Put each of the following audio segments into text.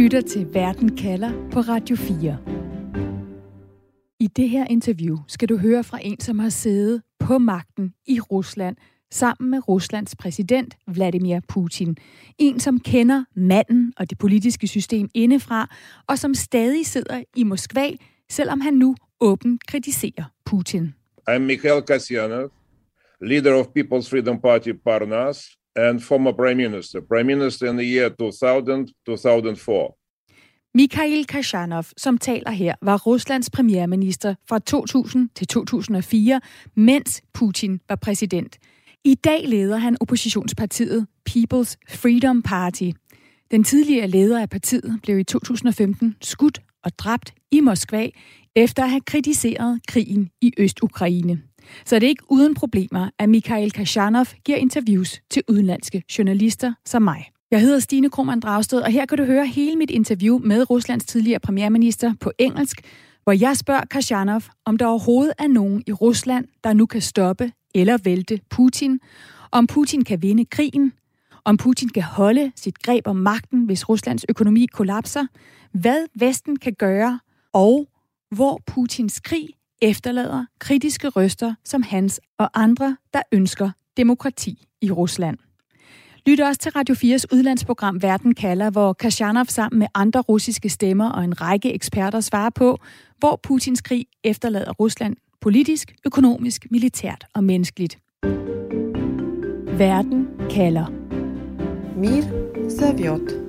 lytter til Verden kalder på Radio 4. I det her interview skal du høre fra en, som har siddet på magten i Rusland sammen med Ruslands præsident Vladimir Putin. En, som kender manden og det politiske system indefra, og som stadig sidder i Moskva, selvom han nu åbent kritiserer Putin. I'm Mikhail Kasyanov, leader of People's Freedom Party Parnas, and former prime minister in the year 2000-2004. Mikhail Kasyanov, som taler her, var Ruslands premierminister fra 2000 til 2004, mens Putin var præsident. I dag leder han oppositionspartiet People's Freedom Party. Den tidligere leder af partiet blev i 2015 skudt og dræbt i Moskva, efter at have kritiseret krigen i Øst-Ukraine. Så det er ikke uden problemer, at Mikhail Kasyanov giver interviews til udenlandske journalister som mig. Jeg hedder Stine Krohmann Dragsted, og her kan du høre hele mit interview med Ruslands tidligere premierminister på engelsk, hvor jeg spørger Kasyanov, om der overhovedet er nogen i Rusland, der nu kan stoppe eller vælte Putin, om Putin kan vinde krigen, om Putin kan holde sit greb om magten, hvis Ruslands økonomi kollapser, hvad Vesten kan gøre, og hvor Putins krig efterlader kritiske røster som hans og andre, der ønsker demokrati i Rusland. Lyt også til Radio 4's udlandsprogram Verden kalder, hvor Kasyanov sammen med andre russiske stemmer og en række eksperter svarer på, hvor Putins krig efterlader Rusland politisk, økonomisk, militært og menneskeligt. Verden kalder. Мир зовет.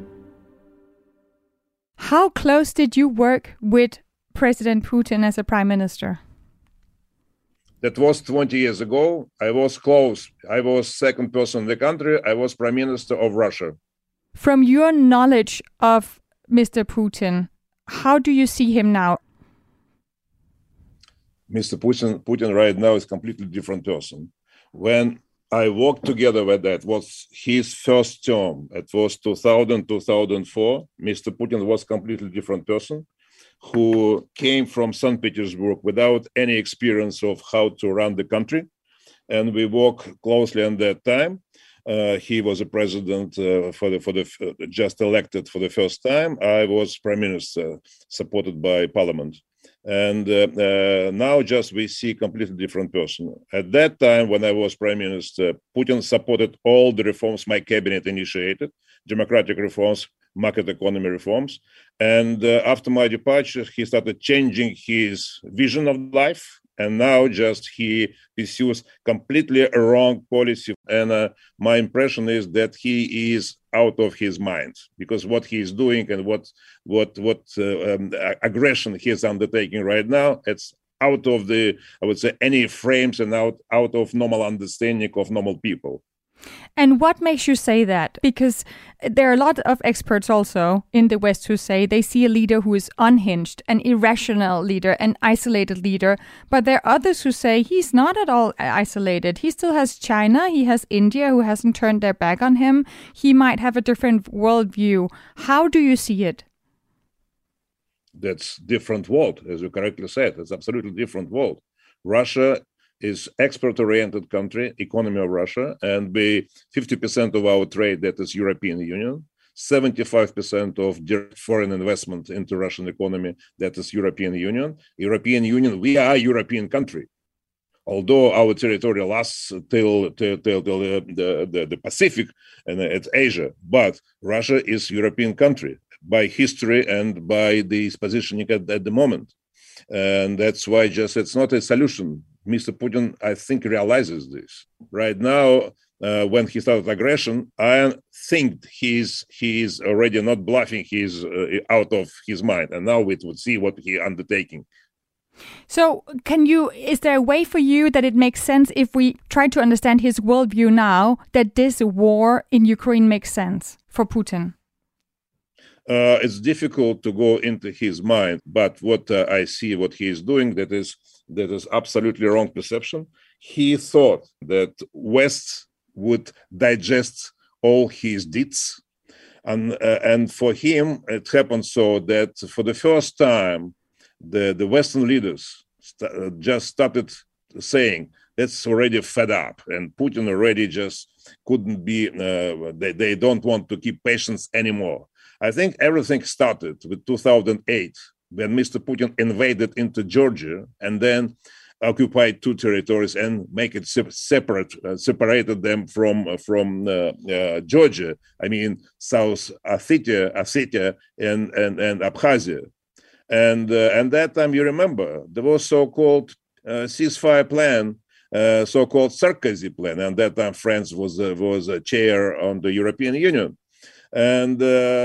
How close did you work with President Putin as a prime minister? That was 20 years ago. I was close. I was second person in the country. I was prime minister of Russia. From your knowledge of Mr. Putin, how do you see him now? Mr. Putin right now is a completely different person. When I worked together with that, was his first term. It was 2000-2004. Mr. Putin was a completely different person who came from St. Petersburg without any experience of how to run the country. And we worked closely on that time. He was a president for the just elected for the first time. I was prime minister, supported by parliament. And now just we see a completely different person. At that time, when I was prime minister, Putin supported all the reforms my cabinet initiated, democratic reforms, market economy reforms. And after my departure, he started changing his vision of life. And now just he pursues completely a wrong policy. And my impression is that he is out of his mind, because what he is doing and what aggression he is undertaking right now, it's out of the, I would say, any frames and out of normal understanding of normal people. And what makes you say that? Because there are a lot of experts also in the West who say they see a leader who is unhinged, an irrational leader, an isolated leader. But there are others who say he's not at all isolated. He still has China, he has India who hasn't turned their back on him. He might have a different worldview. How do you see it? That's different world, as you correctly said. It's absolutely different world. Russia is export-oriented country, economy of Russia, and 50% of our trade, that is European Union, 75% of direct foreign investment into Russian economy, that is European Union. European Union, we are a European country. Although our territory lasts till the Pacific and it's Asia, but Russia is European country by history and by this positioning at the moment. And that's why just it's not a solution. Mr. Putin, I think, realizes this. Right now, when he started aggression, I think he's already not bluffing, he's out of his mind. And now we would see what he's undertaking. So is there a way for you that it makes sense if we try to understand his worldview now, that this war in Ukraine makes sense for Putin? It's difficult to go into his mind, but what I see, what he is doing, that is absolutely wrong perception. He thought that West would digest all his deeds, and for him it happened so that for the first time, the Western leaders just started saying that's already fed up, and Putin already just couldn't be. They don't want to keep patience anymore. I think everything started with 2008 when Mr. Putin invaded into Georgia and then occupied two territories and make it separated them from Georgia. I mean, South Ossetia and Abkhazia. And that time, you remember, there was so-called ceasefire plan, so-called Sarkozy plan. And that time, France was a chair on the European Union. And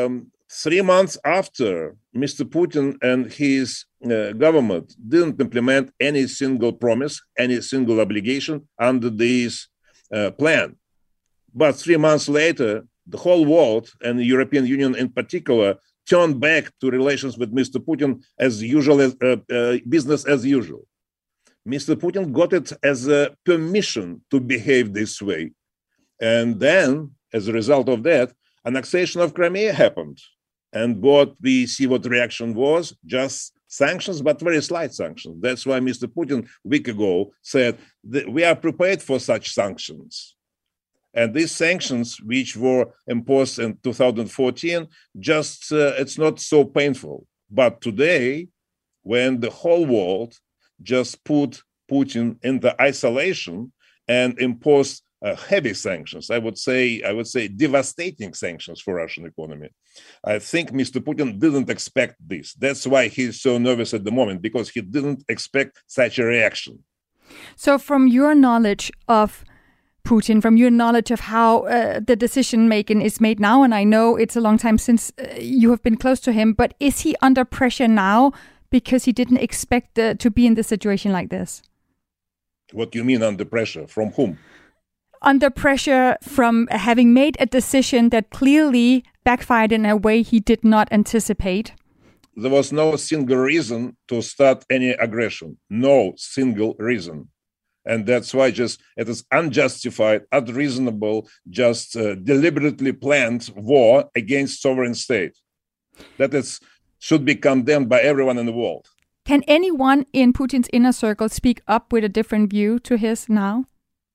3 months after, Mr. Putin and his government didn't implement any single promise, any single obligation under this plan. But 3 months later, the whole world and the European Union in particular turned back to relations with Mr. Putin as usual, as business as usual. Mr. Putin got it as a permission to behave this way. And then, as a result of that, annexation of Crimea happened. And what we see what reaction was, just sanctions, but very slight sanctions. That's why Mr. Putin a week ago said that we are prepared for such sanctions. And these sanctions, which were imposed in 2014, just it's not so painful. But today, when the whole world just put Putin into isolation and imposed heavy sanctions, I would say devastating sanctions for Russian economy. I think Mr. Putin didn't expect this. That's why he's so nervous at the moment, because he didn't expect such a reaction. So from your knowledge of Putin, from your knowledge of how the decision making is made now, and I know it's a long time since you have been close to him, but is he under pressure now because he didn't expect to be in this situation like this? What do you mean under pressure? From whom? Under pressure from having made a decision that clearly backfired in a way he did not anticipate. There was no single reason to start any aggression. No single reason. And that's why it is unjustified, unreasonable, just deliberately planned war against sovereign state. That should be condemned by everyone in the world. Can anyone in Putin's inner circle speak up with a different view to his now?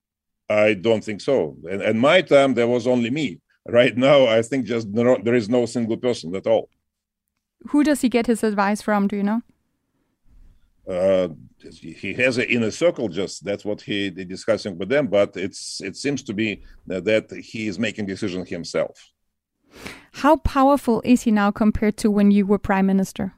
I don't think so. In my time, there was only me. Right now, I think there is no single person at all. Who does he get his advice from? Do you know? He has an inner circle. Just that's what he's discussing with them. But it seems to be that he is making decisions himself. How powerful is he now compared to when you were prime minister?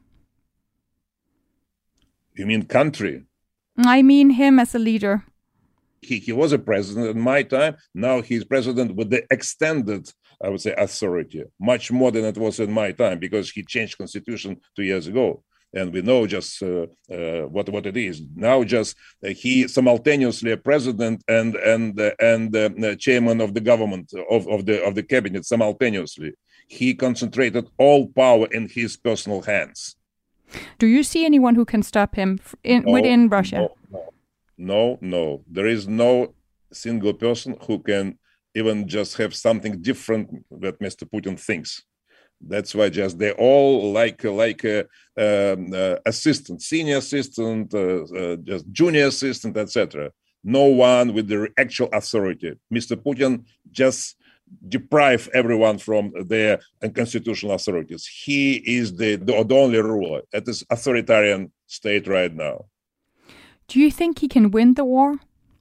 You mean country? I mean him as a leader. He was a president in my time. Now he's president with the extended, I would say, authority, much more than it was in my time, because he changed constitution 2 years ago. And we know just what it is. Now just he simultaneously a president and chairman of the government, of the cabinet simultaneously. He concentrated all power in his personal hands. Do you see anyone who can stop him within Russia? No. There is no single person who can even just have something different that Mr. Putin thinks. That's why just they all like assistant, senior assistant, just junior assistant, etc. No one with the actual authority. Mr. Putin just deprive everyone from their constitutional authorities. He is the only ruler. It is authoritarian state right now. Do you think he can win the war?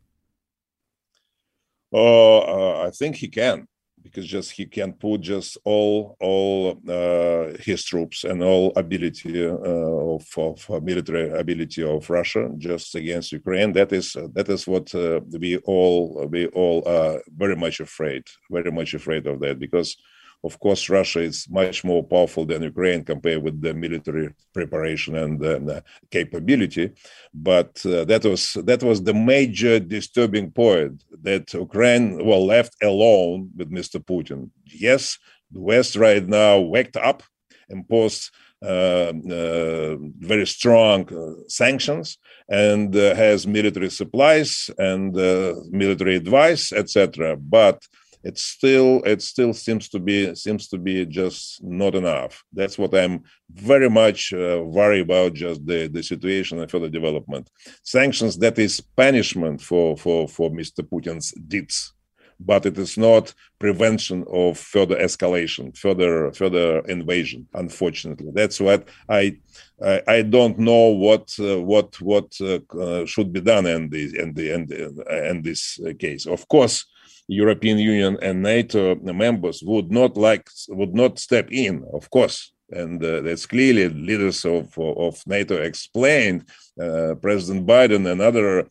I think he can, because just he can put just all his troops and all ability of military ability of Russia just against Ukraine. That is what we all are very much afraid of that, because of course Russia is much more powerful than Ukraine compared with the military preparation and capability. But that was the major disturbing point, that Ukraine were left alone with Mr. Putin. Yes, the West right now waked up, imposed very strong sanctions, and has military supplies and military advice, etc. But it still seems to be just not enough. That's what I'm very much worried about, just the situation and further development. Sanctions, that is punishment for Mr. Putin's deeds. but it is not prevention of further escalation, further invasion. Unfortunately, that's what I don't know what should be done in this case. Of course, European Union and NATO members would not step in, of course. And that's clearly leaders of NATO explained. President Biden and other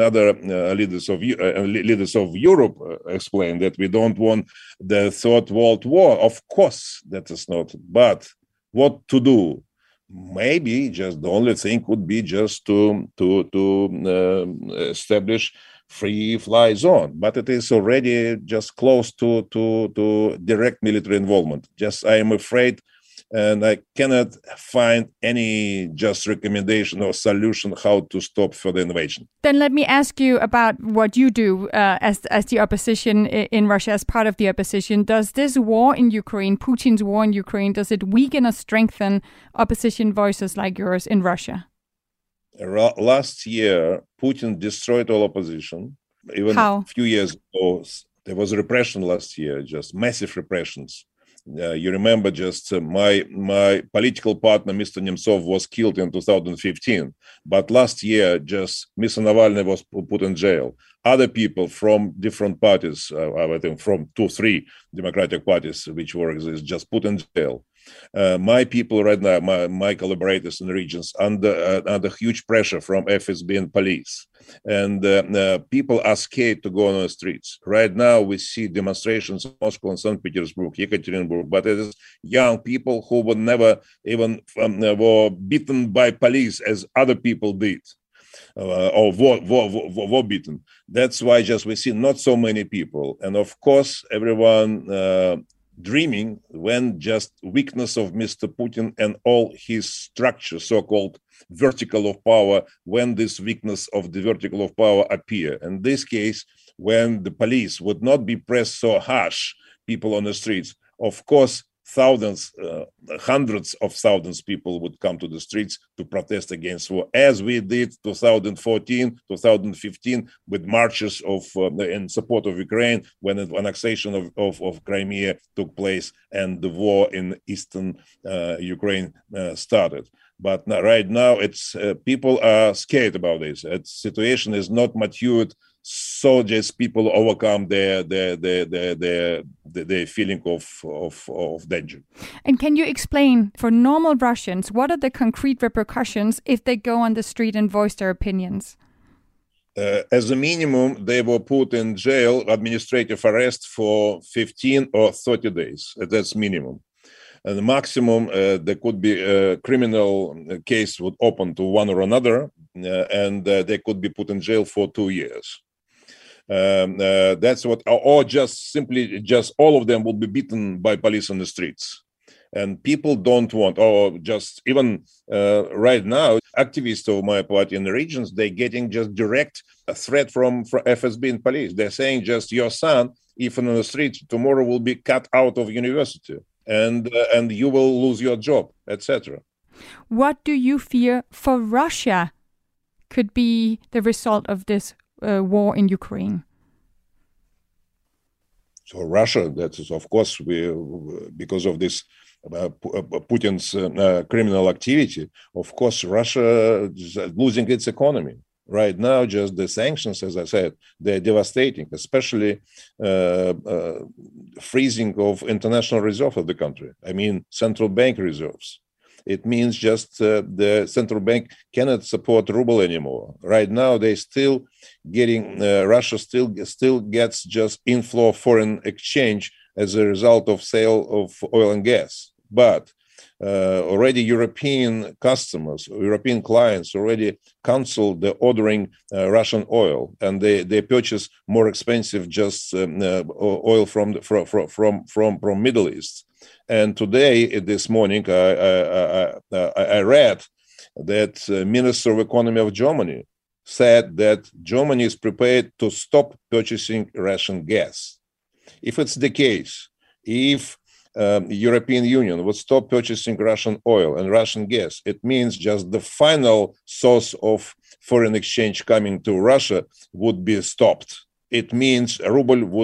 leaders of Europe explained that we don't want the third world war. Of course, that is not. But what to do? Maybe just the only thing would be just to establish free fly zone, but it is already just close to direct military involvement. Just I am afraid. And I cannot find any just recommendation or solution how to stop further invasion. Then let me ask you about what you do as the opposition in Russia, as part of the opposition. Does this war in Ukraine, Putin's war in Ukraine, does it weaken or strengthen opposition voices like yours in Russia? Last year, Putin destroyed all opposition. Even a few years ago, there was repression last year, just massive repressions. You remember just my political partner, Mr. Nemtsov, was killed in 2015. But last year, just Mr. Navalny was put in jail. Other people from different parties, I think from 2-3 democratic parties which were exist, just put in jail. My people right now, my collaborators in the regions, under huge pressure from FSB and police. And people are scared to go on the streets. Right now, we see demonstrations in Moscow and St. Petersburg, Yekaterinburg, but it is young people who would never even were beaten by police as other people did. Or were beaten. That's why just we see not so many people. And of course, everyone dreaming when just weakness of Mr. Putin and all his structure, so-called vertical of power, when this weakness of the vertical of power appear. In this case, when the police would not be pressed so harsh, people on the streets, of course, thousands, hundreds of thousands people would come to the streets to protest against war, as we did 2014, 2015 with marches in support of Ukraine when the annexation of Crimea took place and the war in eastern Ukraine started. But right now, it's people are scared about this. The situation is not matured. So just people overcome their feeling of danger. And can you explain for normal Russians what are the concrete repercussions if they go on the street and voice their opinions? As a minimum, they were put in jail, administrative arrest for 15 or 30 days. That's minimum. And the maximum, there could be a criminal case would open to one or another, and they could be put in jail for 2 years. That's what, or just simply, just all of them will be beaten by police on the streets. And people don't want, or just even right now, activists of my party in the regions, they're getting just direct threat from FSB and police. They're saying just your son, if on the street, tomorrow will be cut out of university. And you will lose your job, etc. What do you fear for Russia could be the result of this war in Ukraine? So Russia, that is, of course, because of this Putin's criminal activity, of course, Russia is losing its economy. Right now, just the sanctions, as I said, they're devastating, especially freezing of international reserve of the country. I mean, central bank reserves. It means just the central bank cannot support ruble anymore. Right now, they still getting, Russia still gets just inflow of foreign exchange as a result of sale of oil and gas. But already European customers, European clients already canceled the ordering Russian oil, and they purchase more expensive just oil from Middle East. And today, this morning, I read that Minister of Economy of Germany said that Germany is prepared to stop purchasing Russian gas. If it's the case, if European Union would stop purchasing Russian oil and Russian gas, it means just the final source of foreign exchange coming to Russia would be stopped. It means ruble would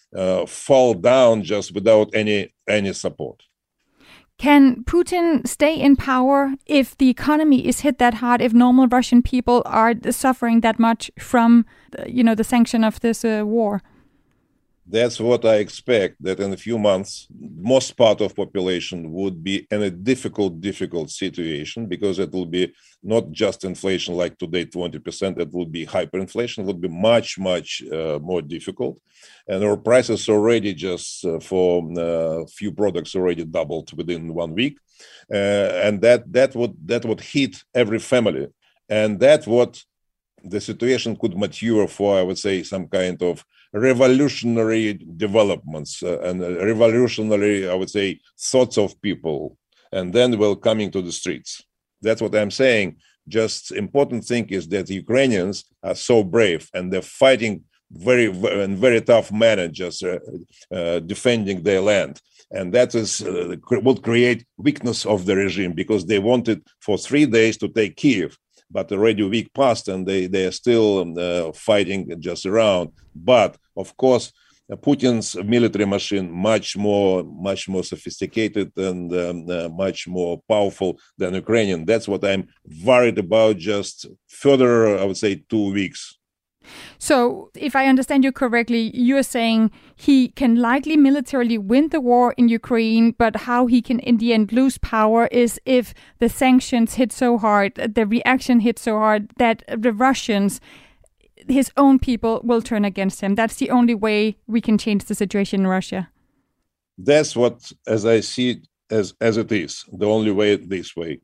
fall down just without any support. Can Putin stay in power if the economy is hit that hard, if normal Russian people are suffering that much from, the sanction of this war? That's what I expect, that in a few months, most part of population would be in a difficult situation, because it will be not just inflation like today, 20%, it will be hyperinflation, it will be much more difficult. And our prices already just for few products already doubled within 1 week. And that would hit every family. And that's what the situation could mature for, I would say, some kind of revolutionary developments and revolutionary, I would say, thoughts of people, and then will coming to the streets. That's what I'm saying. Just important thing is that the Ukrainians are so brave and they're fighting very tough manner, just defending their land. And that is would create weakness of the regime, because they wanted for 3 days to take Kiev. But already a week passed and they are still fighting just around. But of course, Putin's military machine much more sophisticated and much more powerful than Ukrainian. That's what I'm worried about. Just further, I would say, 2 weeks. So, if I understand you correctly, you're saying he can likely militarily win the war in Ukraine, but how he can in the end lose power is if the sanctions hit so hard, the reaction hit so hard that the Russians, his own people, will turn against him. That's the only way we can change the situation in Russia. That's what, as I see it, as it is, the only way this way.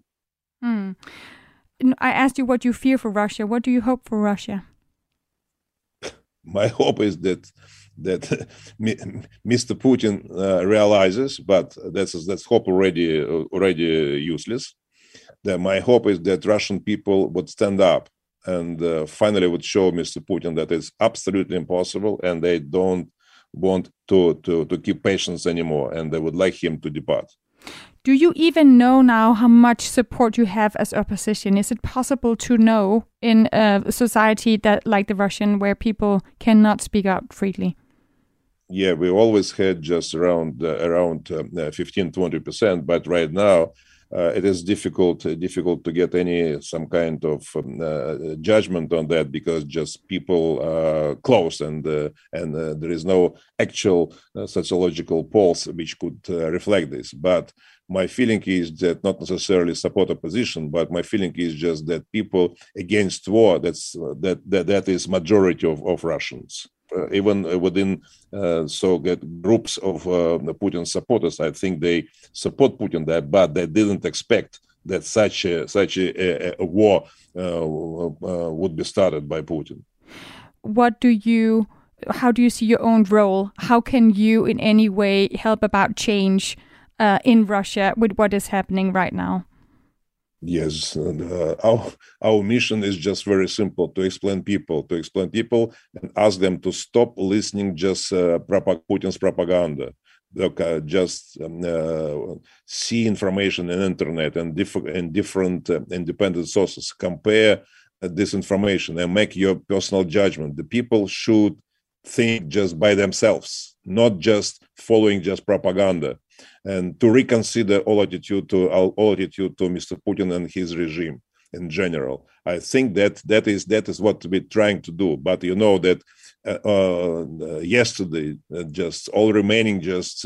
I asked you what you fear for Russia. What do you hope for Russia? My hope is that Mr. Putin realizes, but that's hope already useless. That my hope is that Russian people would stand up and finally would show Mr. Putin that it's absolutely impossible, and they don't want to keep patience anymore, and they would like him to depart. Do you even know now how much support you have as opposition? Is it possible to know in a society that like the Russian, where people cannot speak out freely? Yeah, we always had just around 15-20%, but right now it is difficult to get some kind of judgment on that, because just people are close, and there is no actual sociological polls which could reflect this. But my feeling is that not necessarily support opposition, but my feeling is just that people against war, that is majority of Russians. Even within groups of Putin supporters, I think they support Putin there, but they didn't expect that such a war would be started by Putin. How do you see your own role? How can you in any way help about change in Russia with what is happening right now? Yes, our mission is just very simple: to explain people and ask them to stop listening just Putin's propaganda. Look, just see information in internet and different independent sources. Compare this information and make your personal judgment. The people should think just by themselves, not just following just propaganda, and to reconsider all attitude to Mr. Putin and his regime in general. I think that is what we're trying to do. But you know that yesterday, just all remaining just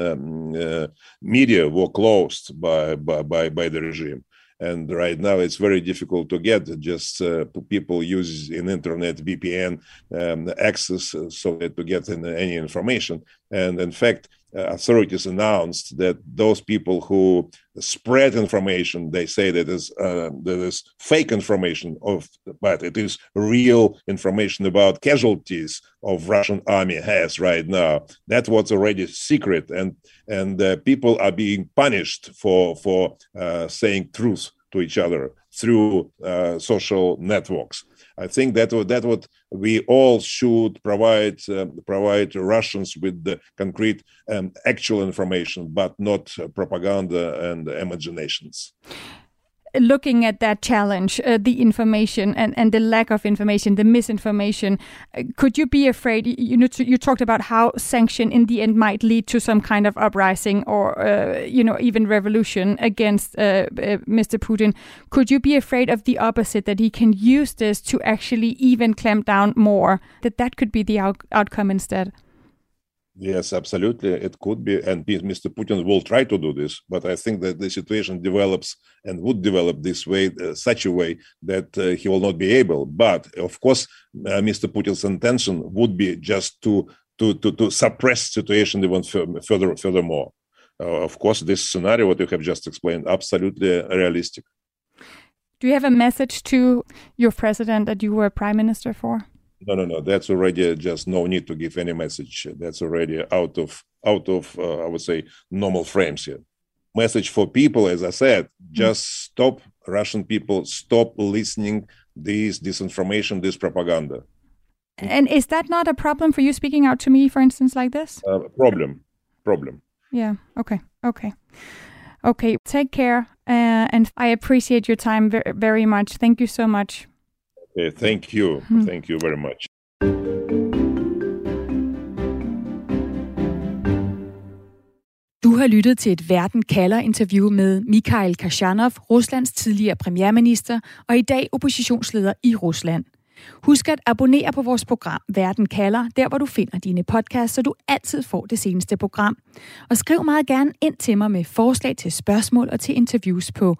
media were closed by the regime. And right now it's very difficult to get just people use in internet VPN access so that to get any information. And in fact, authorities announced that those people who spread information, they say that is fake information but it is real information about casualties of Russian army has right now. That's what's already secret, and people are being punished for saying truth to each other through social networks. I think that what we all should provide Russians with the concrete actual information, but not propaganda and imaginations. looking at that challenge, the information and the lack of information, the misinformation, could you be afraid? You talked about how sanction in the end might lead to some kind of uprising or even revolution against Mr. Putin. Could you be afraid of the opposite, that he can use this to actually even clamp down more, that could be the outcome instead? Yes, absolutely. It could be. And Mr. Putin will try to do this. But I think that the situation develops and would develop this way, such a way that he will not be able. But of course, Mr. Putin's intention would be just to suppress the situation even furthermore. Of course, this scenario, what you have just explained, absolutely realistic. Do you have a message to your president that you were prime minister for? No. That's already just no need to give any message. That's already out of I would say normal frames here. Message for people, as I said, just stop, Russian people, stop listening this disinformation, this propaganda. And is that not a problem for you speaking out to me, for instance, like this? Problem. Yeah. Okay. Take care, and I appreciate your time very, very much. Thank you so much. Okay, thank you. Thank you very much. Du har lyttet til et Verden kalder-interview med Mikhail Kashanov, Ruslands tidligere premierminister og i dag oppositionsleder i Rusland. Husk at abonnere på vores program Verden kalder, der hvor du finder dine podcasts, så du altid får det seneste program. Og skriv meget gerne ind til mig med forslag til spørgsmål og til interviews på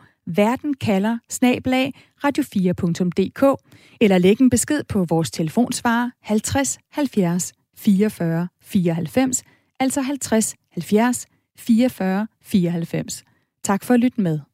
verdenkalder@radio4.dk eller læg en besked på vores telefonsvarer 50 70 44 94, altså 50 70 44 94. Tak for at lytte med.